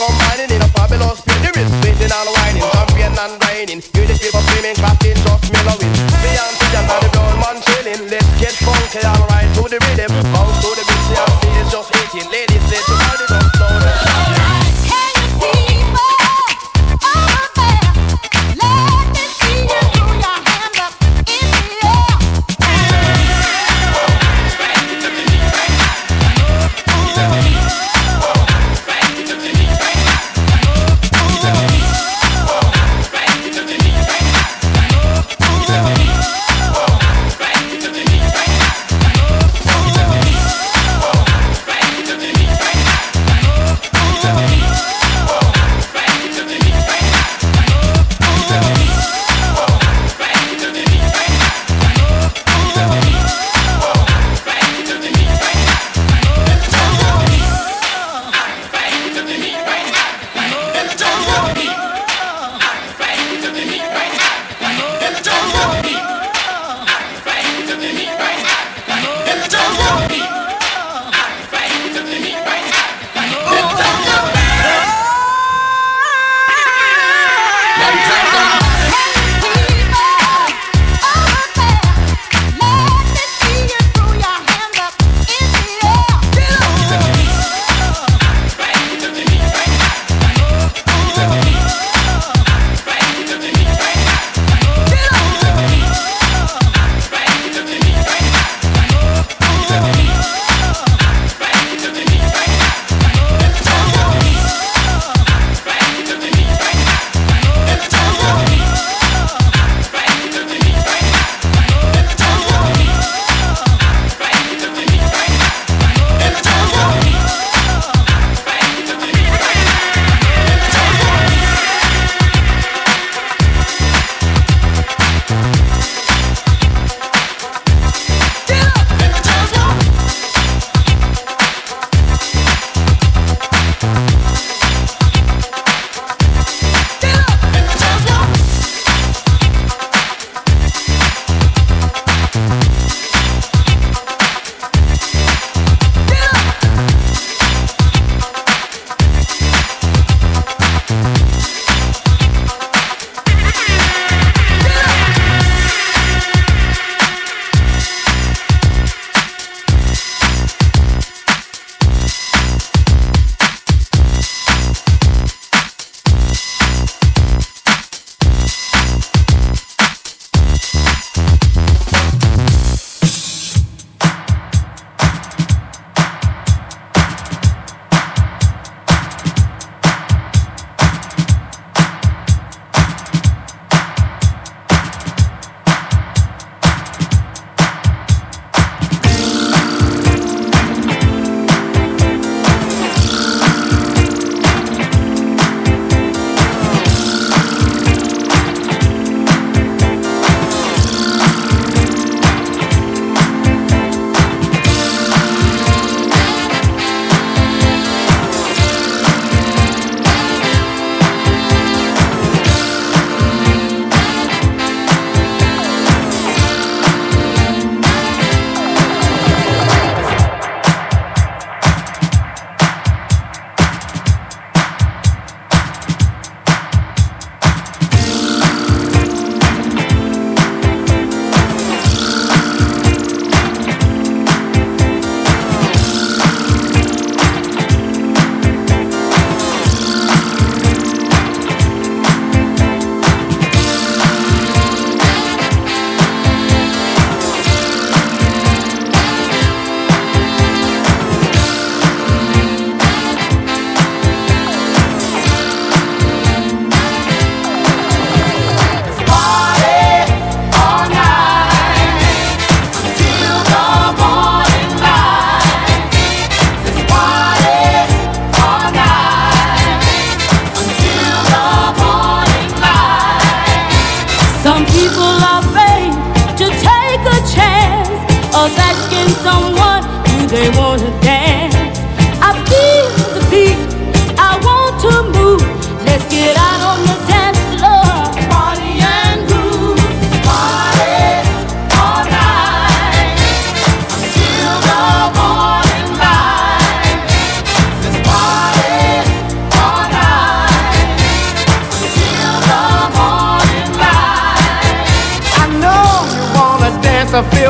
combining in a fabulous spin. The wrist spinning and whining, champion and grinding. Hear the people screaming, clapping, just mellowing. Beyonce and the brown man chilling. Let's get funky and right to the rhythm. Bounce to the beat, see our stage just hitting. Ladies, let your body just slow down.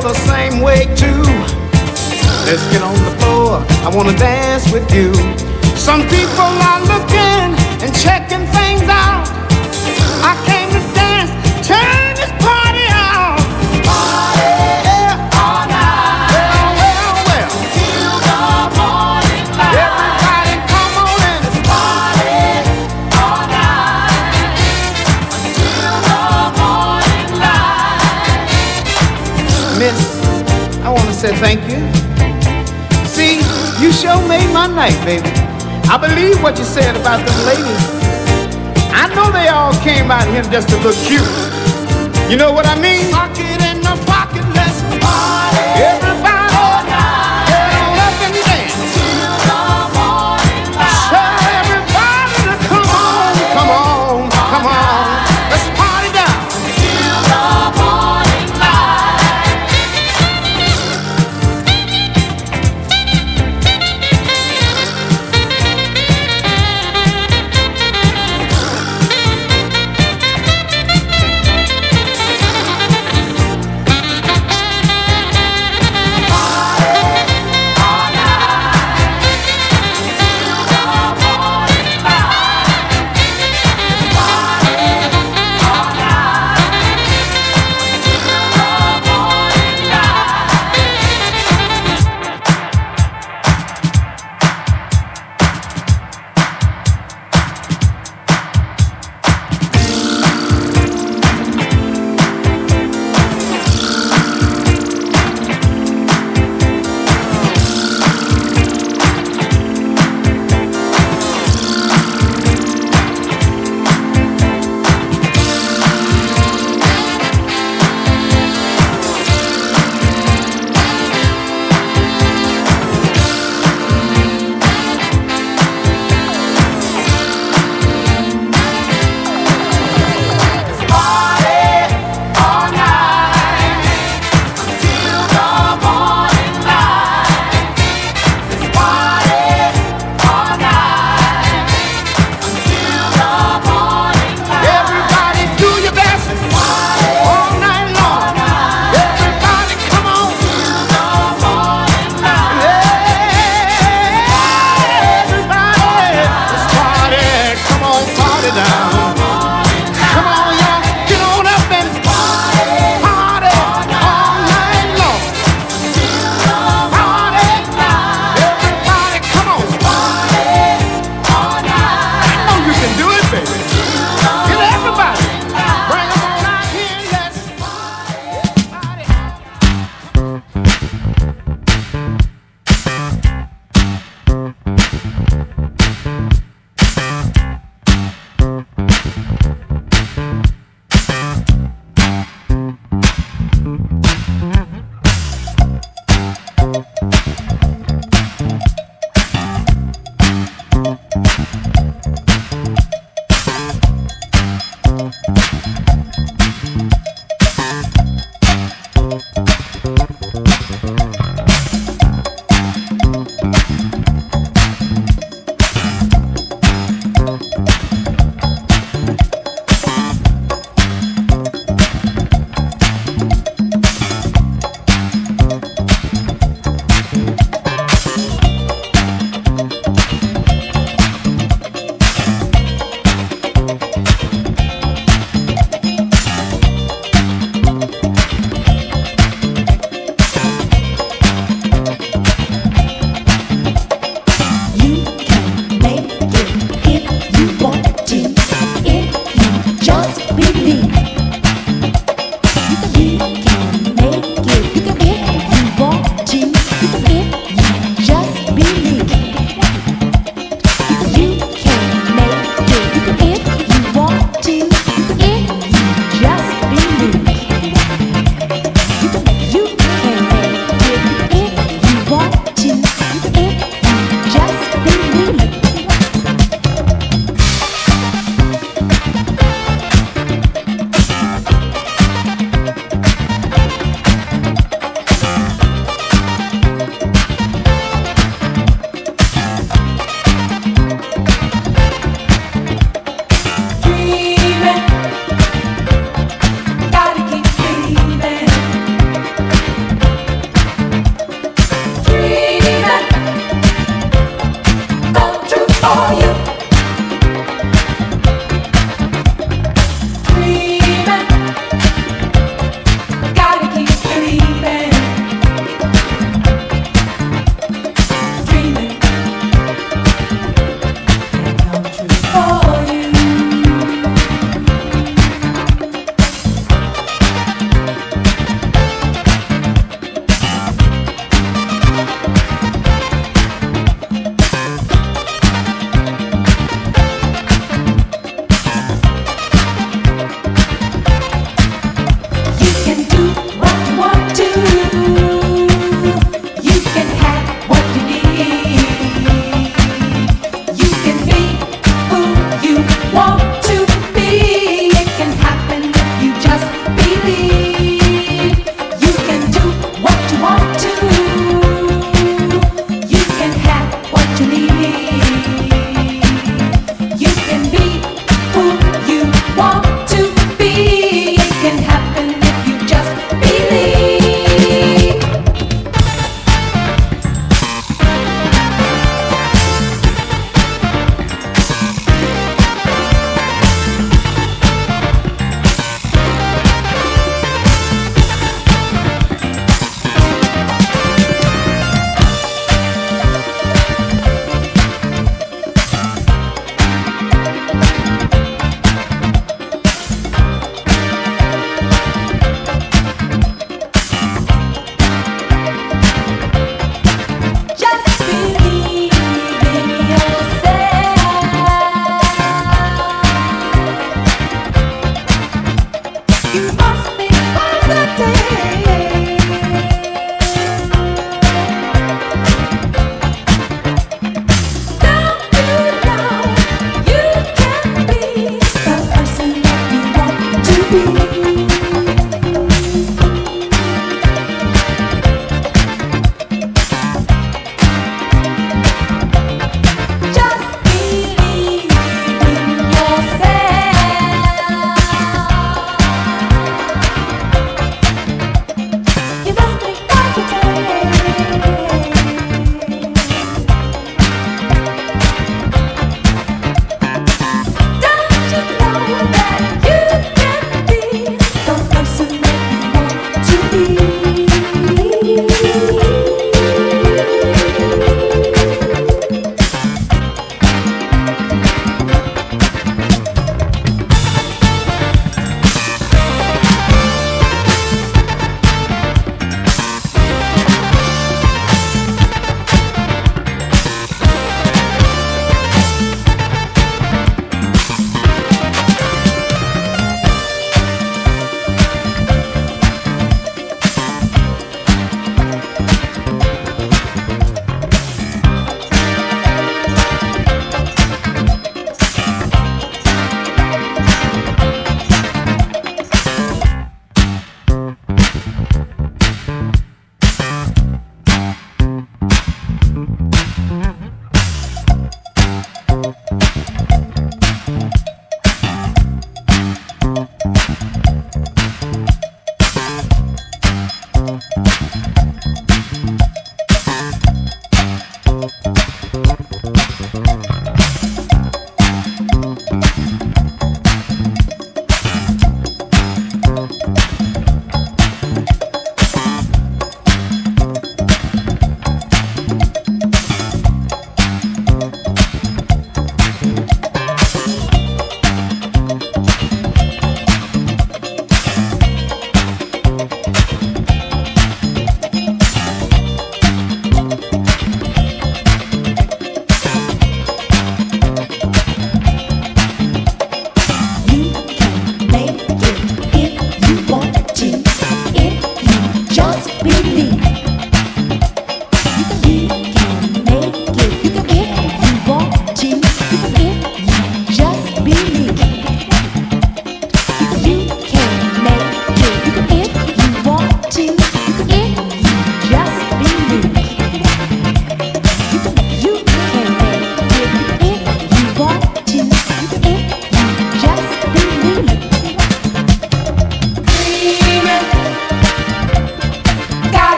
feel the same way too. Let's get on the floor, I wanna dance with you. Some people are looking and checking things out. I came to dance, turn this party on. Party all night. Well. Till the morning light. Everybody come on in. Party all night. Till the morning light. Miss, I want to say thank you. See, you sure made my night, baby. I believe what you said about them ladies. I know they all came out here just to look cute. You know what I mean? Pocket in the pocket, let's party. Everybody, all night. Get on up and dance. Till the morning light. Tell everybody to come on, come on, come on. Let's party down. Till the morning light. You can make it if you want.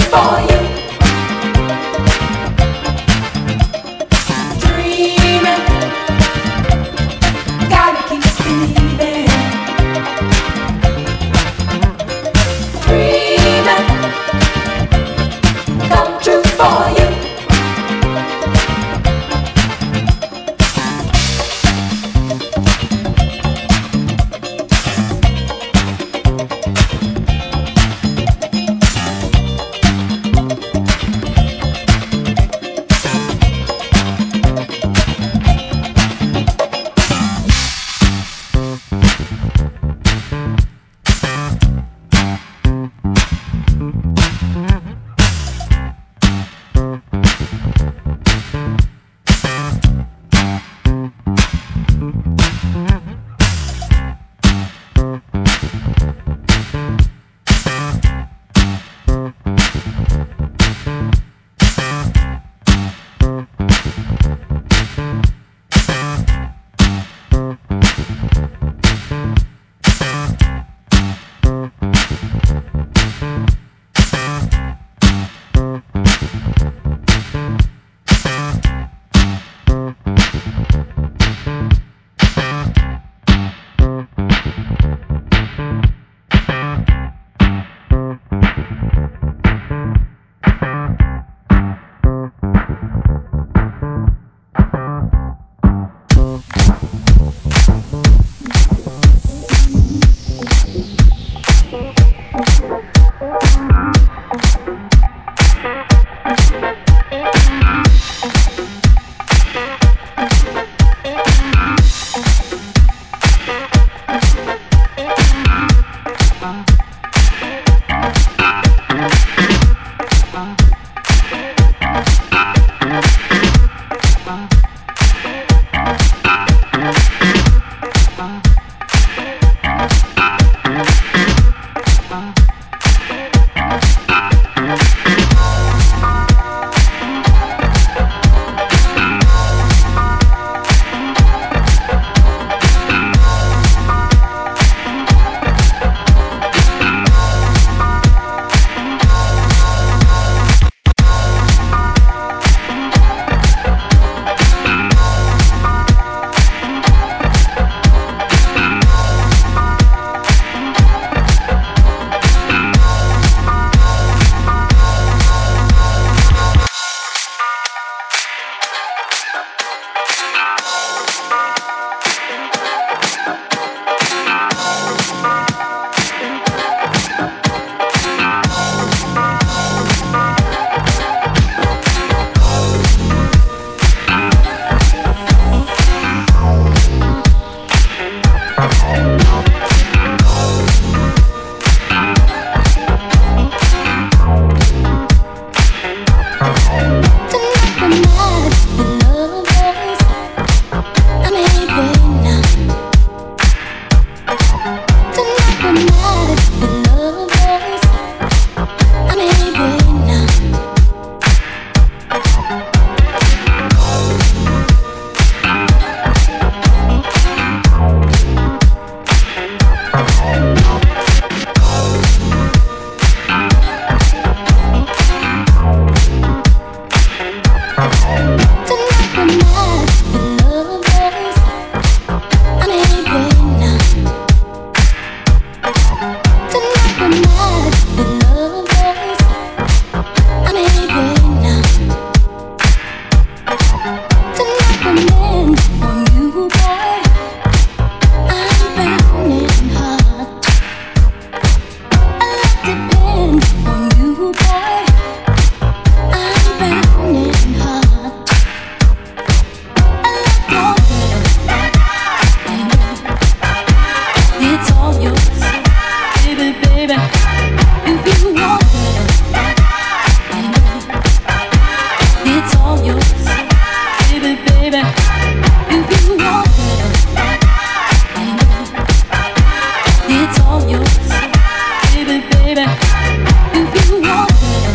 It's all yours, baby, baby. If you want it.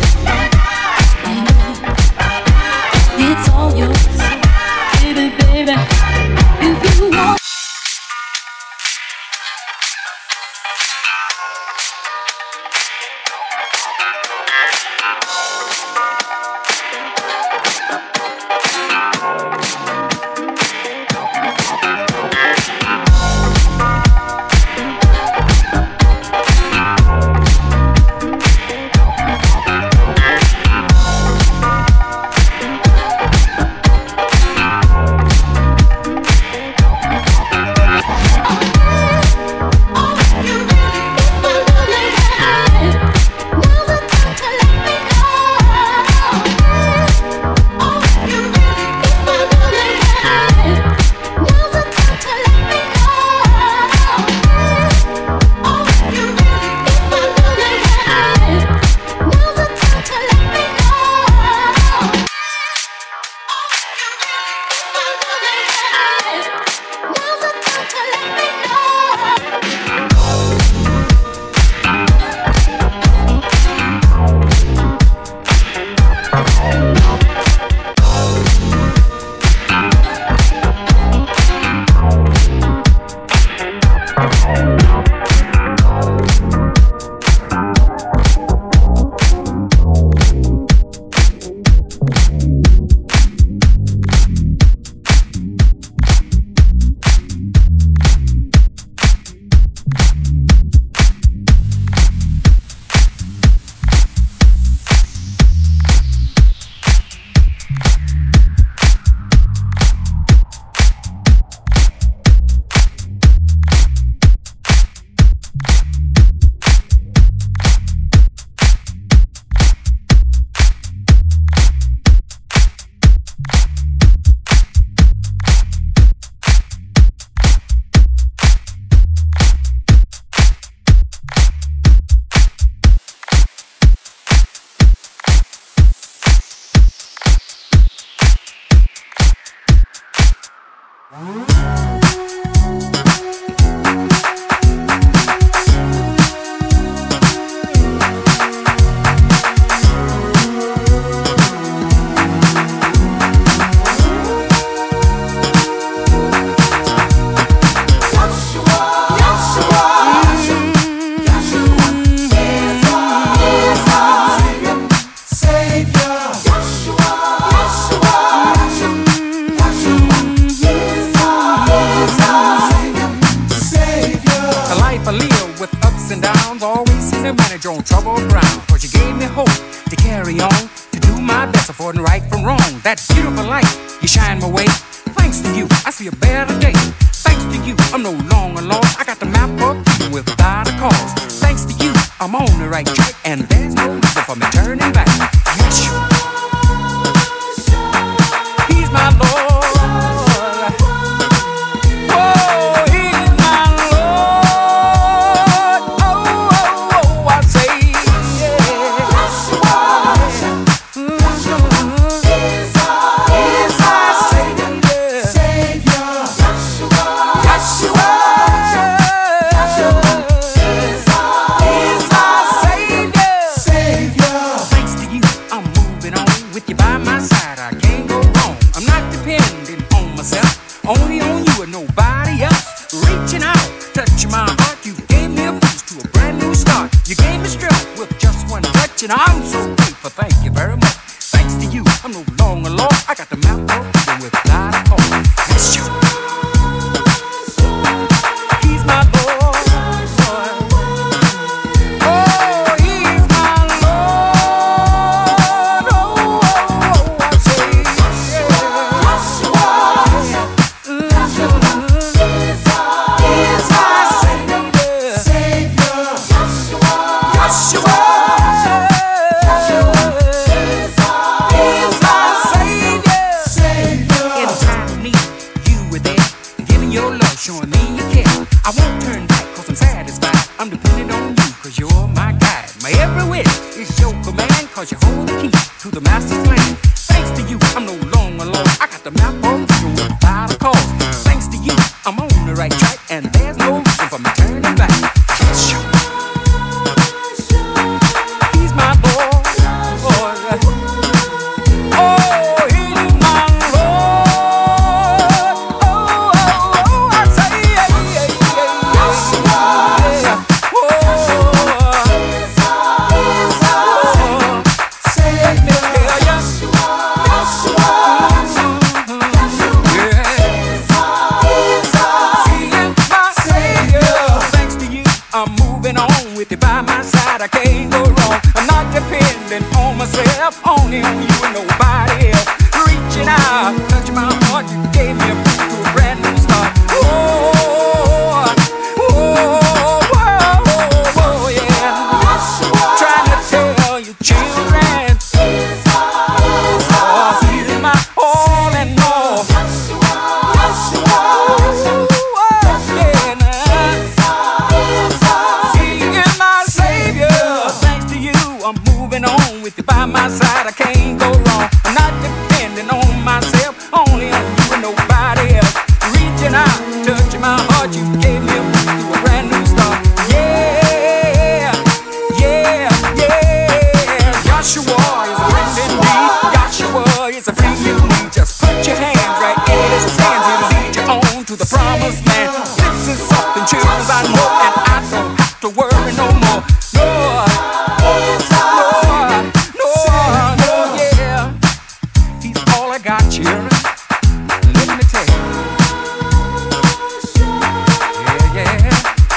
On trouble ground, cause you gave me hope to carry on, to do my best, avoiding right from wrong. That beautiful light, you shine my way. Thanks to you, I see a better day. Thanks to you, I'm no longer lost. I got the map up without a cause. Thanks to you, I'm on the right track, and there's no reason for me turning back. Yes, He's my Lord. Only on you and nobody else. Reaching out, touching my heart. You gave me a boost to a brand new start. You gave me strength with just one touch, and I'm so grateful. Thank you very much. Thanks to you, I'm no longer lost. I got the map open without a call. That's you. He's my Lord. Showing me you care. I won't turn back cause I'm satisfied. I'm depending on you cause you're my guide. My every wish is your command cause you hold the key to the master's plan. Thanks to you, I'm no longer alone. I got the map on without a cause. Thanks to you, I'm on the right track and there's no reason for me turning back. He's my boy. By my side, I can't go wrong. I'm not dependent on myself, only on you and nobody else. Reaching out, touching my heart, you gave me a boost to a brand new start. Oh, yeah. Trying to tell you, children, he's my all and all. With you by my side, I can't go wrong. I'm not depending on myself, only on you and nobody else. Reaching out, touching my heart, you gave me a boost to a brand new start. Yeah, yeah, yeah. Joshua is a friend indeed. Joshua is a friend you need. Just put your hands right in his hands. He'll lead you on to the promised land. This is something chills I know, and I don't have to worry no more. Got you. Let me tell you. Yeah, yeah.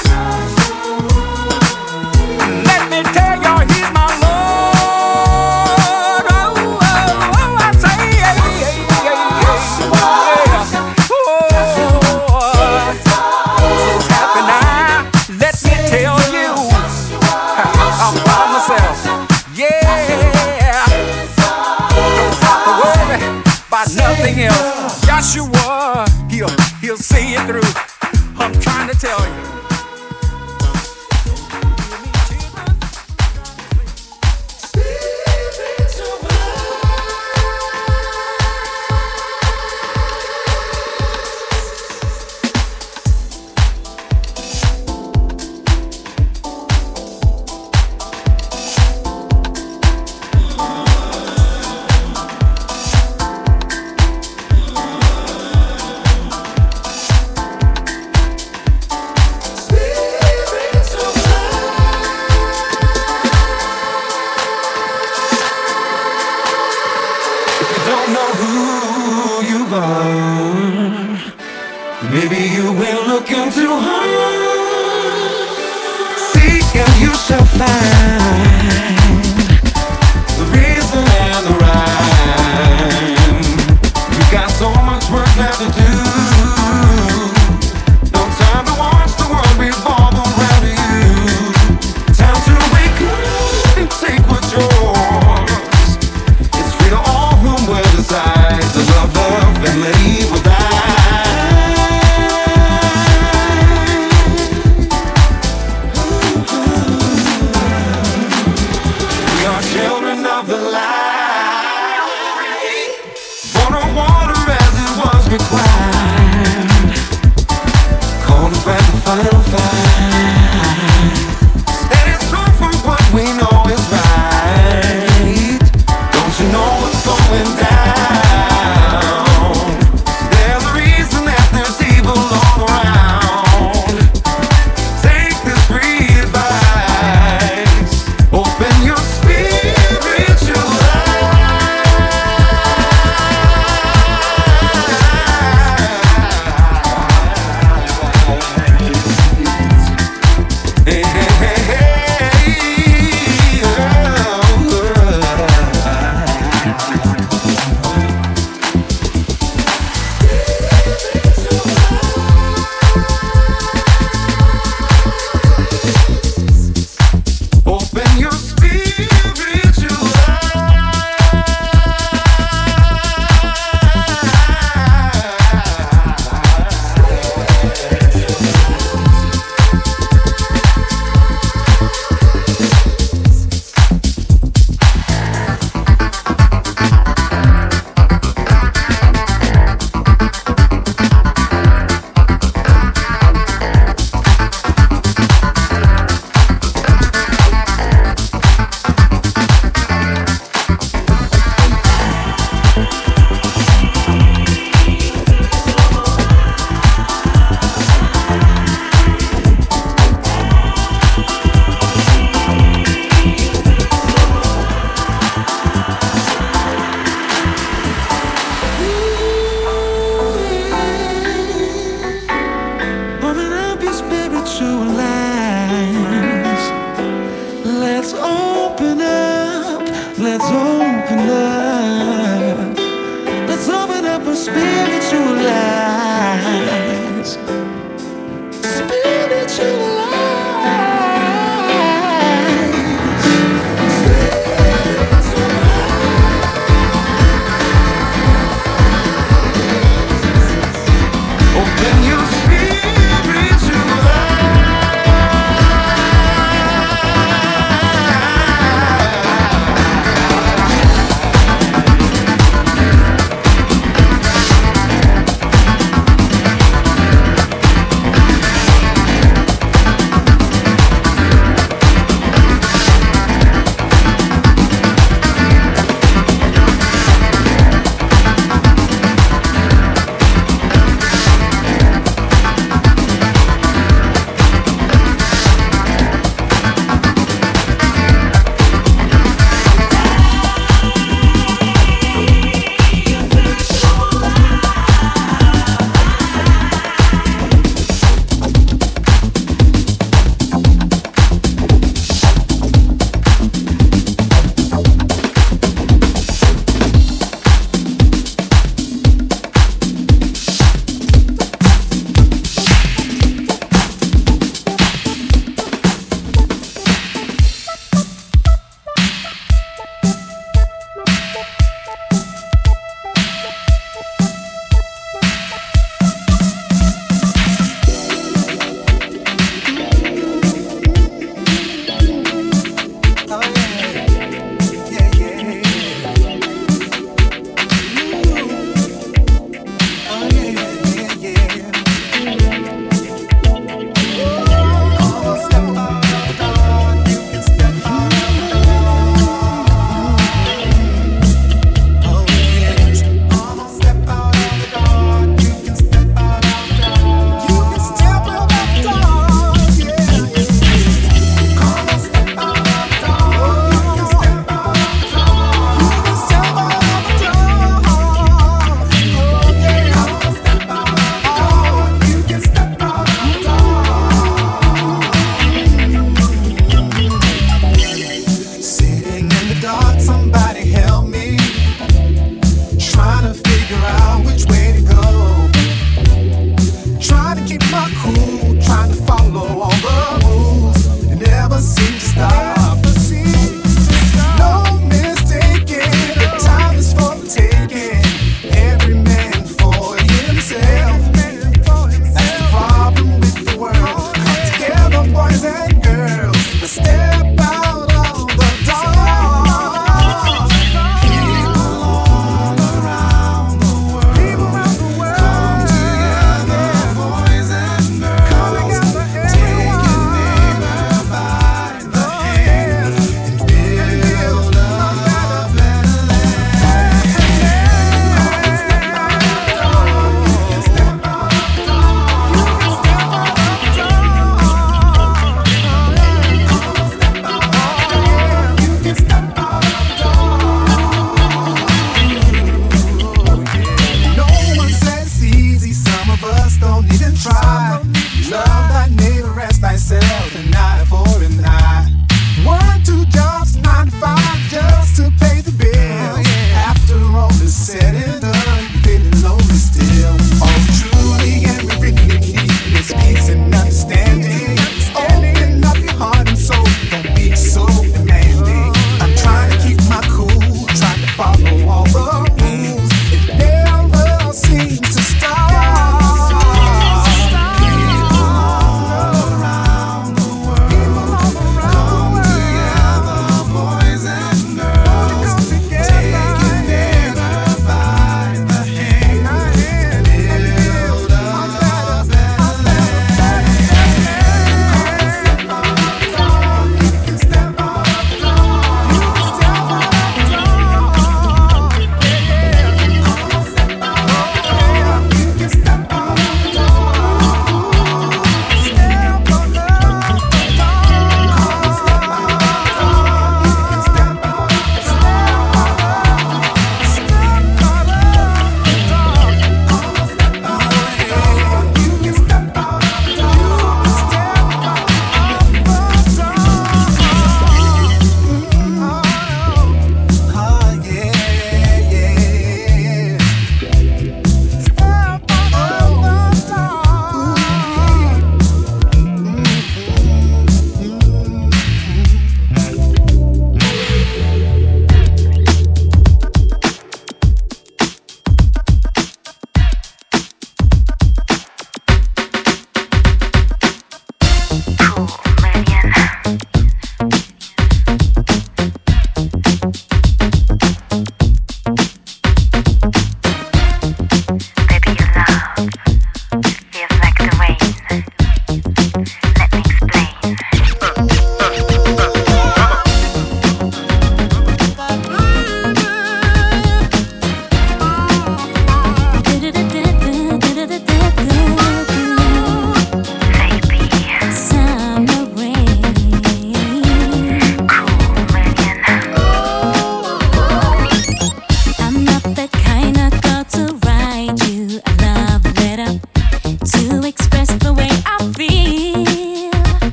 Let me tell you, he's my Lord. Oh, I say, yeah, so happy now. Let me tell you, I'm by myself. Yeah. About nothing else. Joshua, he'll see it through. I'm trying to tell you. move on. Maybe you ain't looking too hard. Seek and you shall find the reason and the rhyme. You got so much work left to do. No time to watch the world revolve around you. Time to wake up and take what's yours. It's free to all whom will decide to love, love, and let evil die. Children of the light, born of water as it was required, called to fight the final fight. Standing strong for what we know is right. Don't you know what's going down? There's a reason that there's evil all around. Take this free advice. Open your spiritual eyes. Hey, hey, hey, hey, oh. Open your spiritual Open up your spiritual eyes. Let's open up. Let's open up. Let's open up our spiritual eyes. Spiritual eyes. Open your spiritual eyes.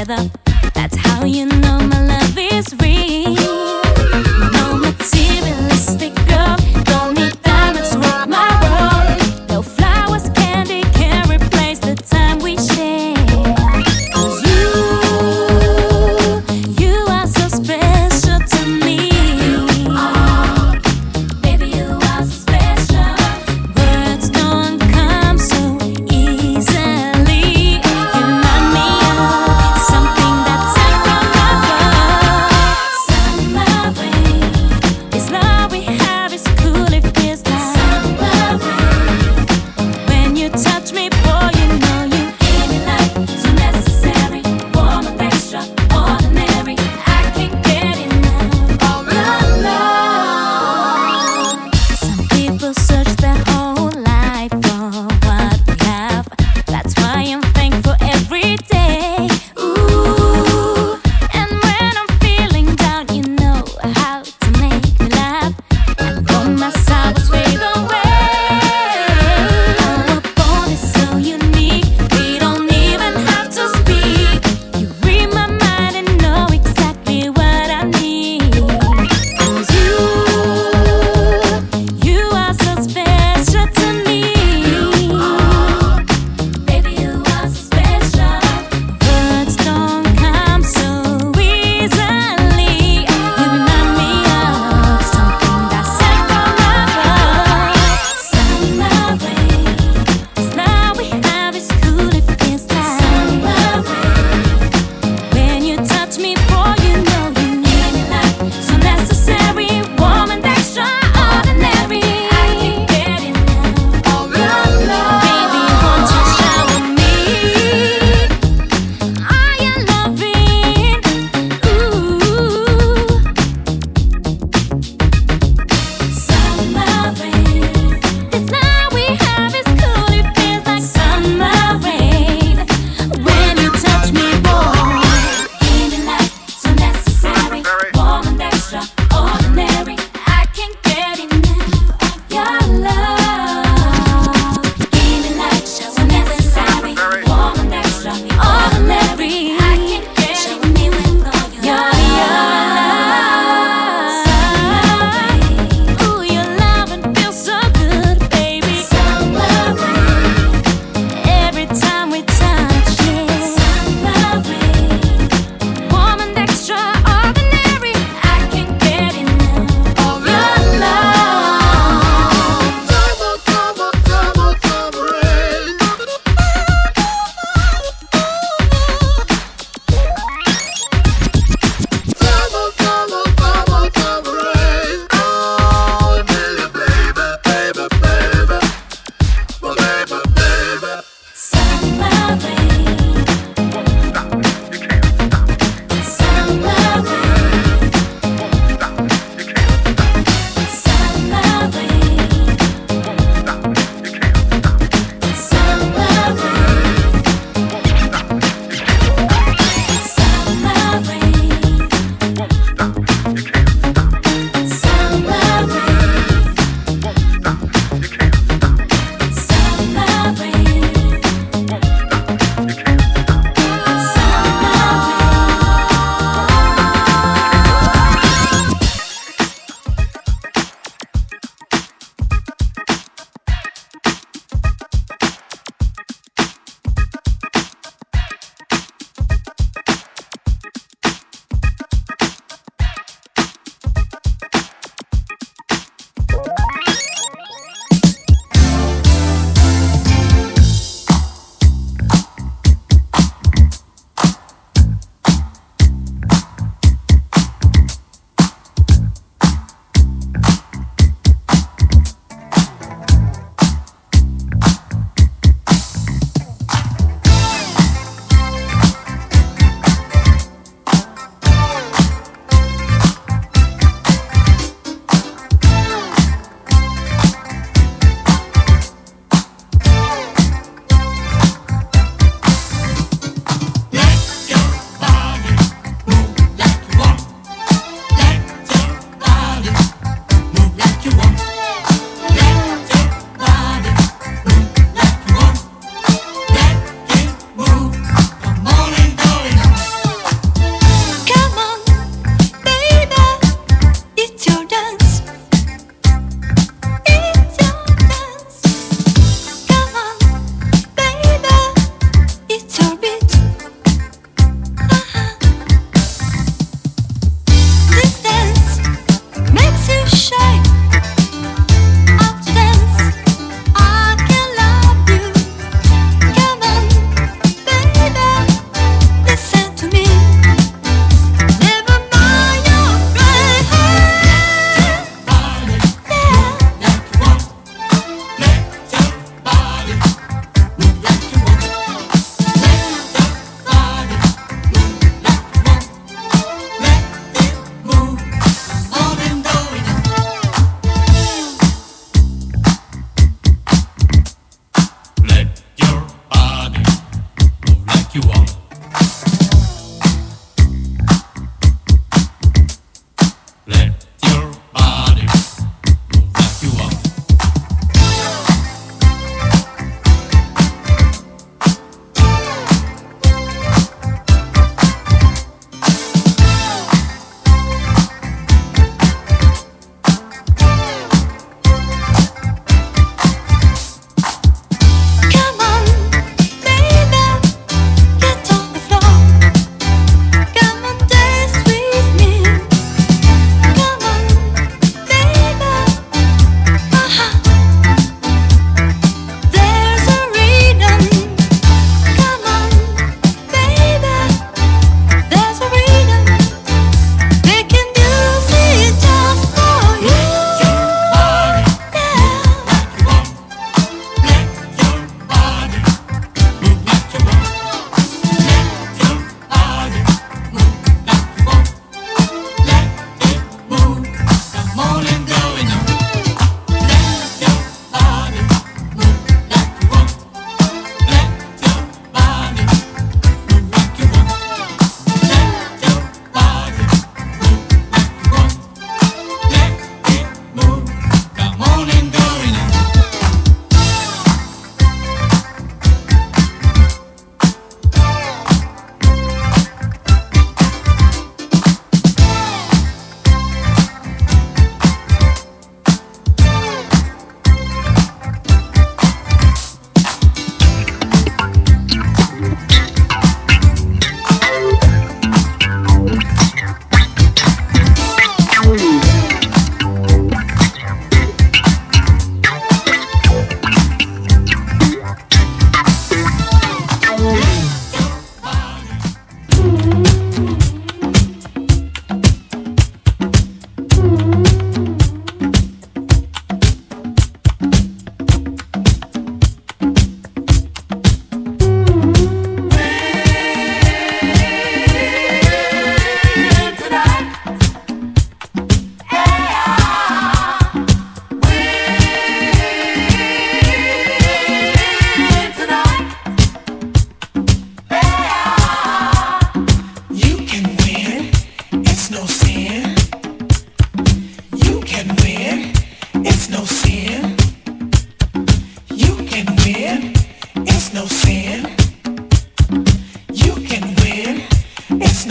together. That's how you know my love is real. No materialistic girl, don't need diamonds to rock my world. No flowers, candy can't replace the time we share. 'Cause you are so special to me. Oh, baby, you are so special. Words don't come so easily. You remind me of something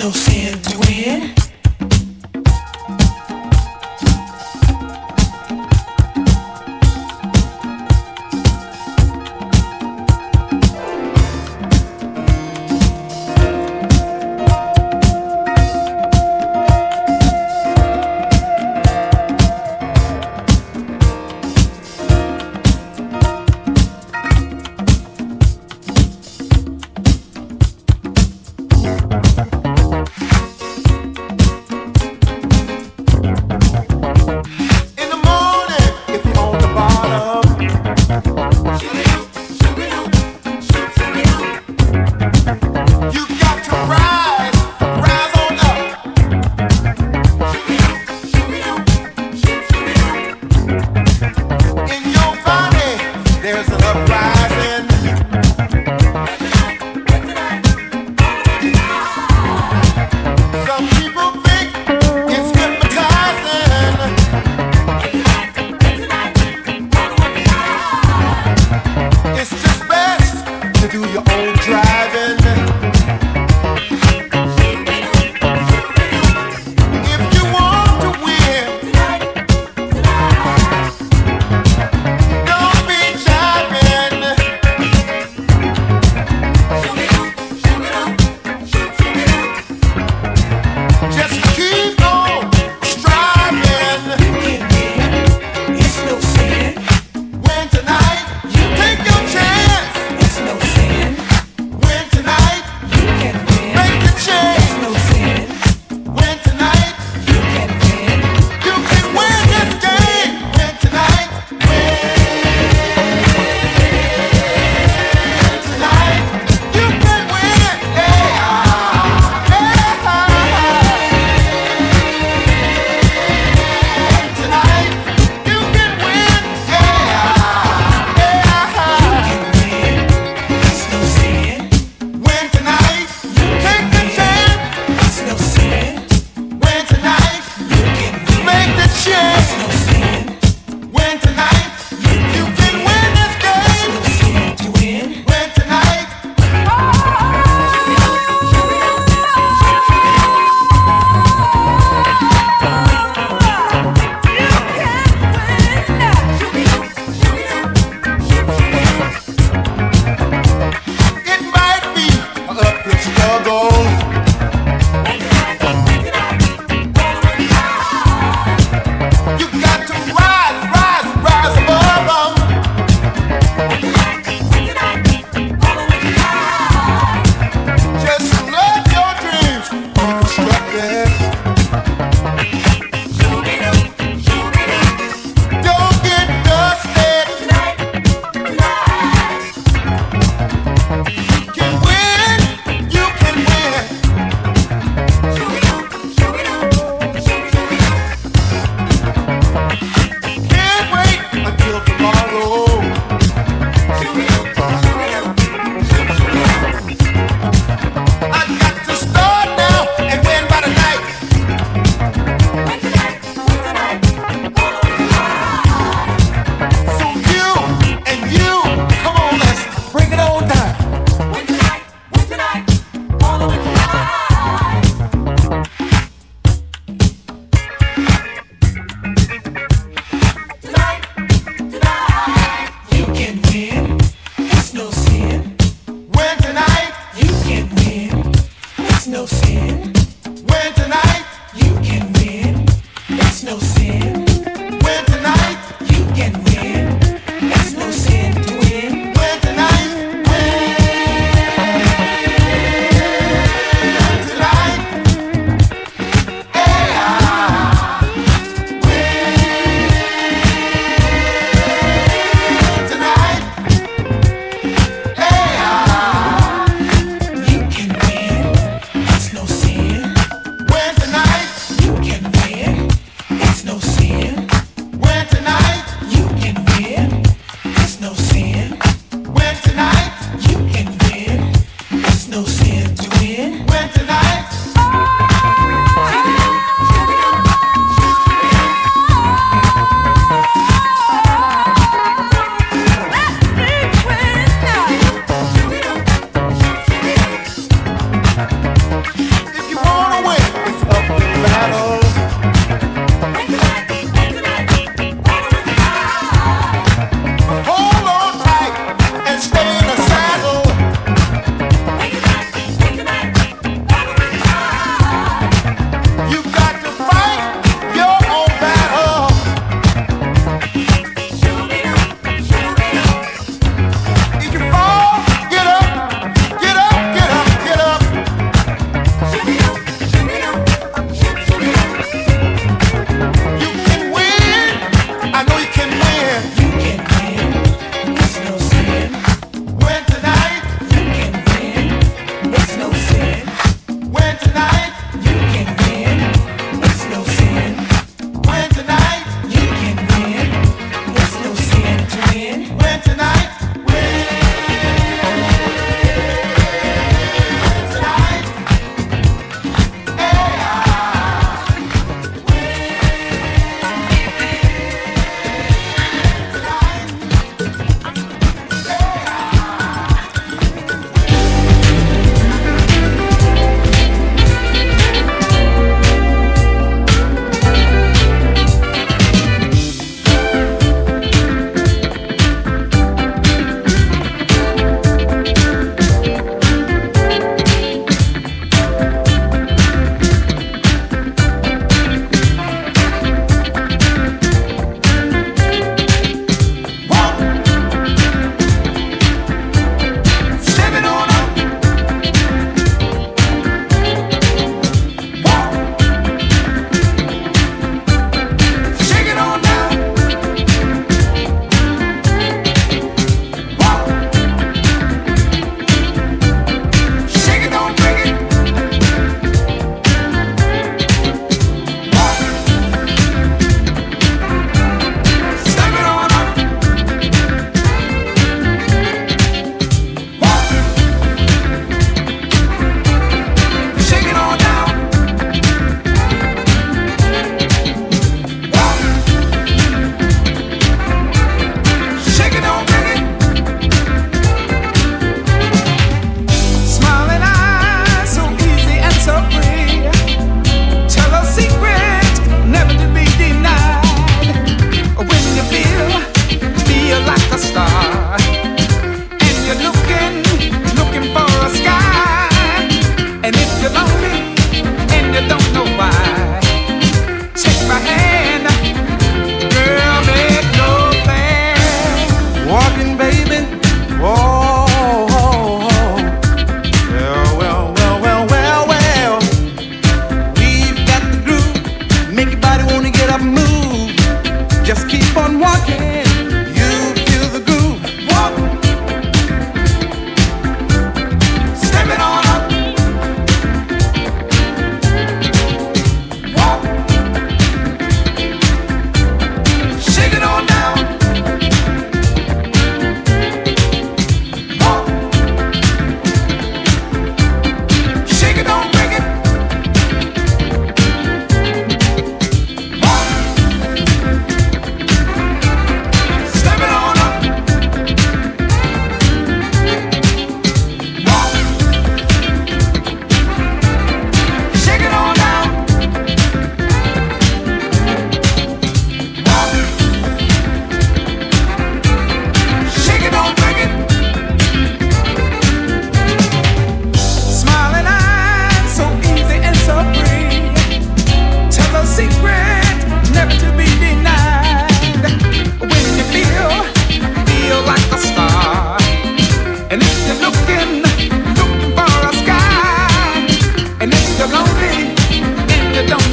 no sin to win. no sin.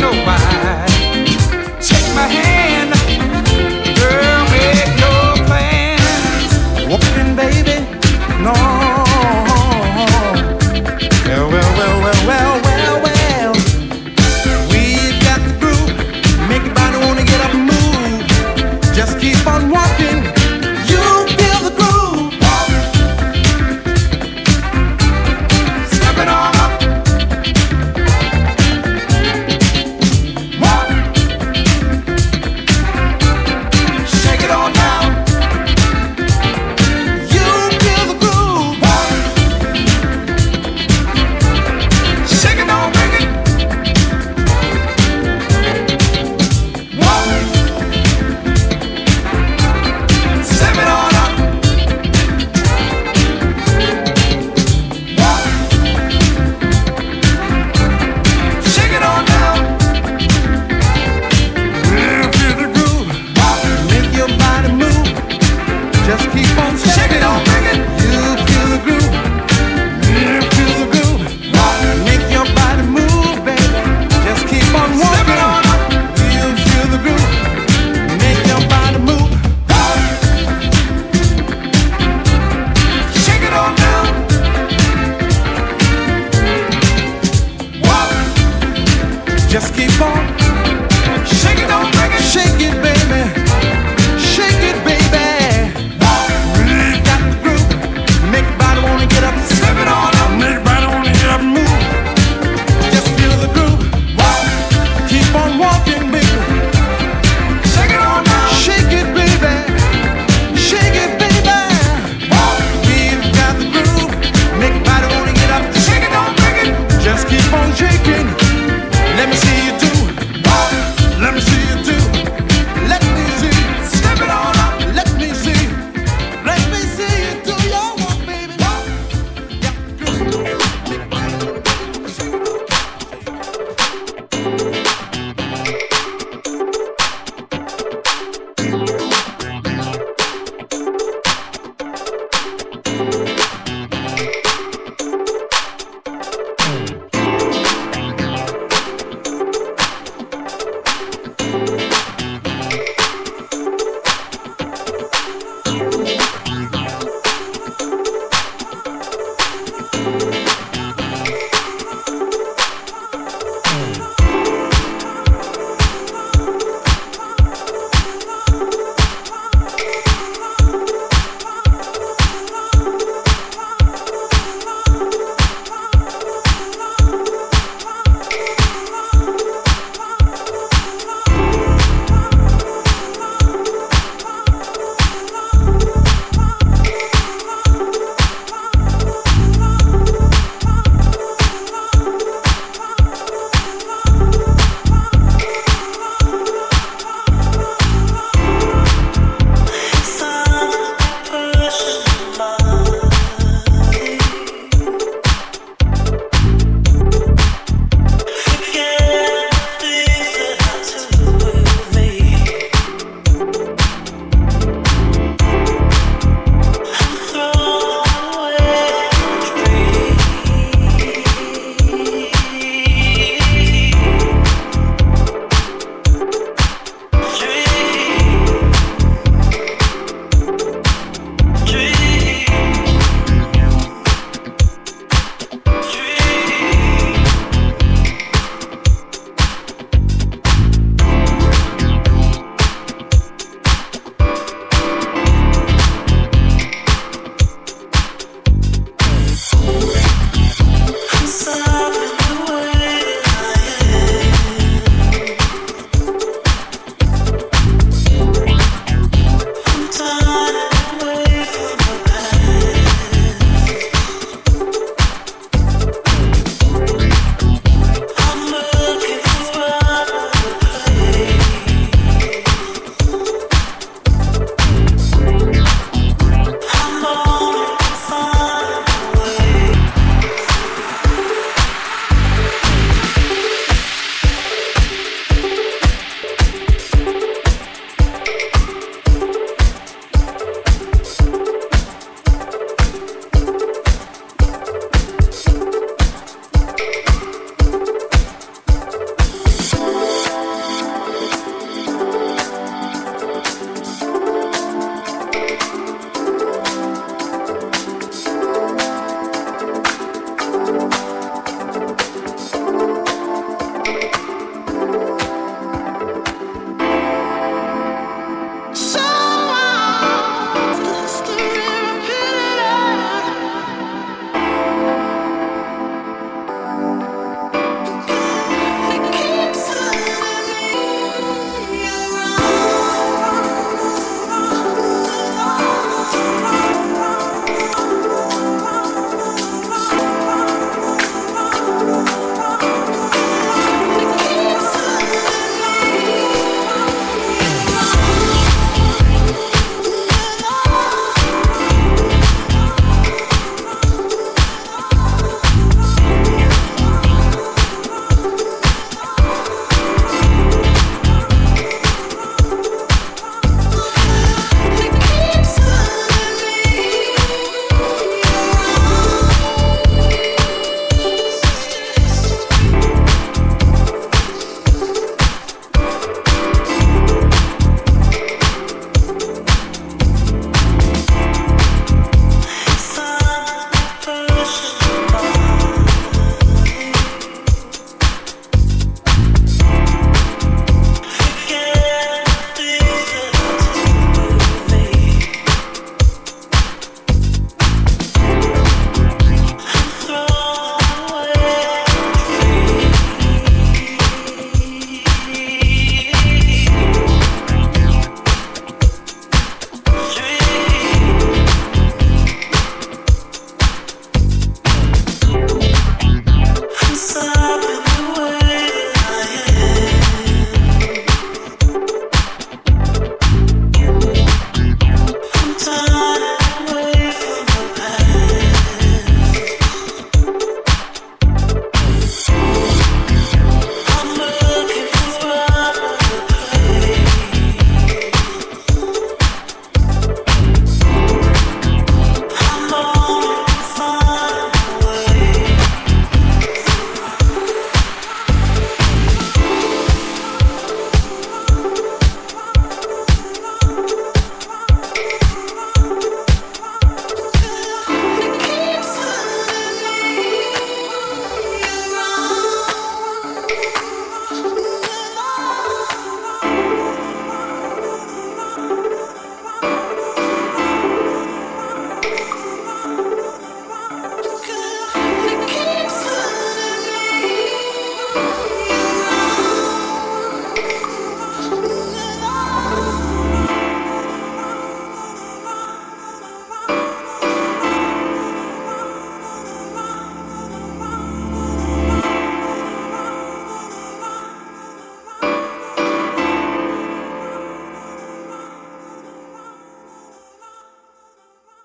nobody. Take my hand, girl, make your plans. Walking, baby, no. Well. We've got the groove. Make your body wanna get up and move. Just keep on walking. You feel the groove. Step it on up. Walk. Shake it on down. You feel the groove. Shake it on, bring it. Walk. Step it on up. Walk. Shake it on down. You feel the groove. Walk. Make your body move. Just keep on Shake stepping. it on, bring it. You feel the groove. You feel the groove. Make your body move, baby. Just keep on walking. Step it on up. You feel the groove. Make your body move. Shake it on down. Walk. Just keep on. Shake it on, bring it. Shake it, baby. Shake it, baby. You got the groove. Make your body wanna get up. Step it on up. Make your body wanna get up and move. Just feel the groove. Keep on walking, baby. Shake it on down. Shake it, baby. Shake it, baby. We've got the groove. Make your body wanna get up. Shake it on, bring it. Just keep on shaking. Let me see you do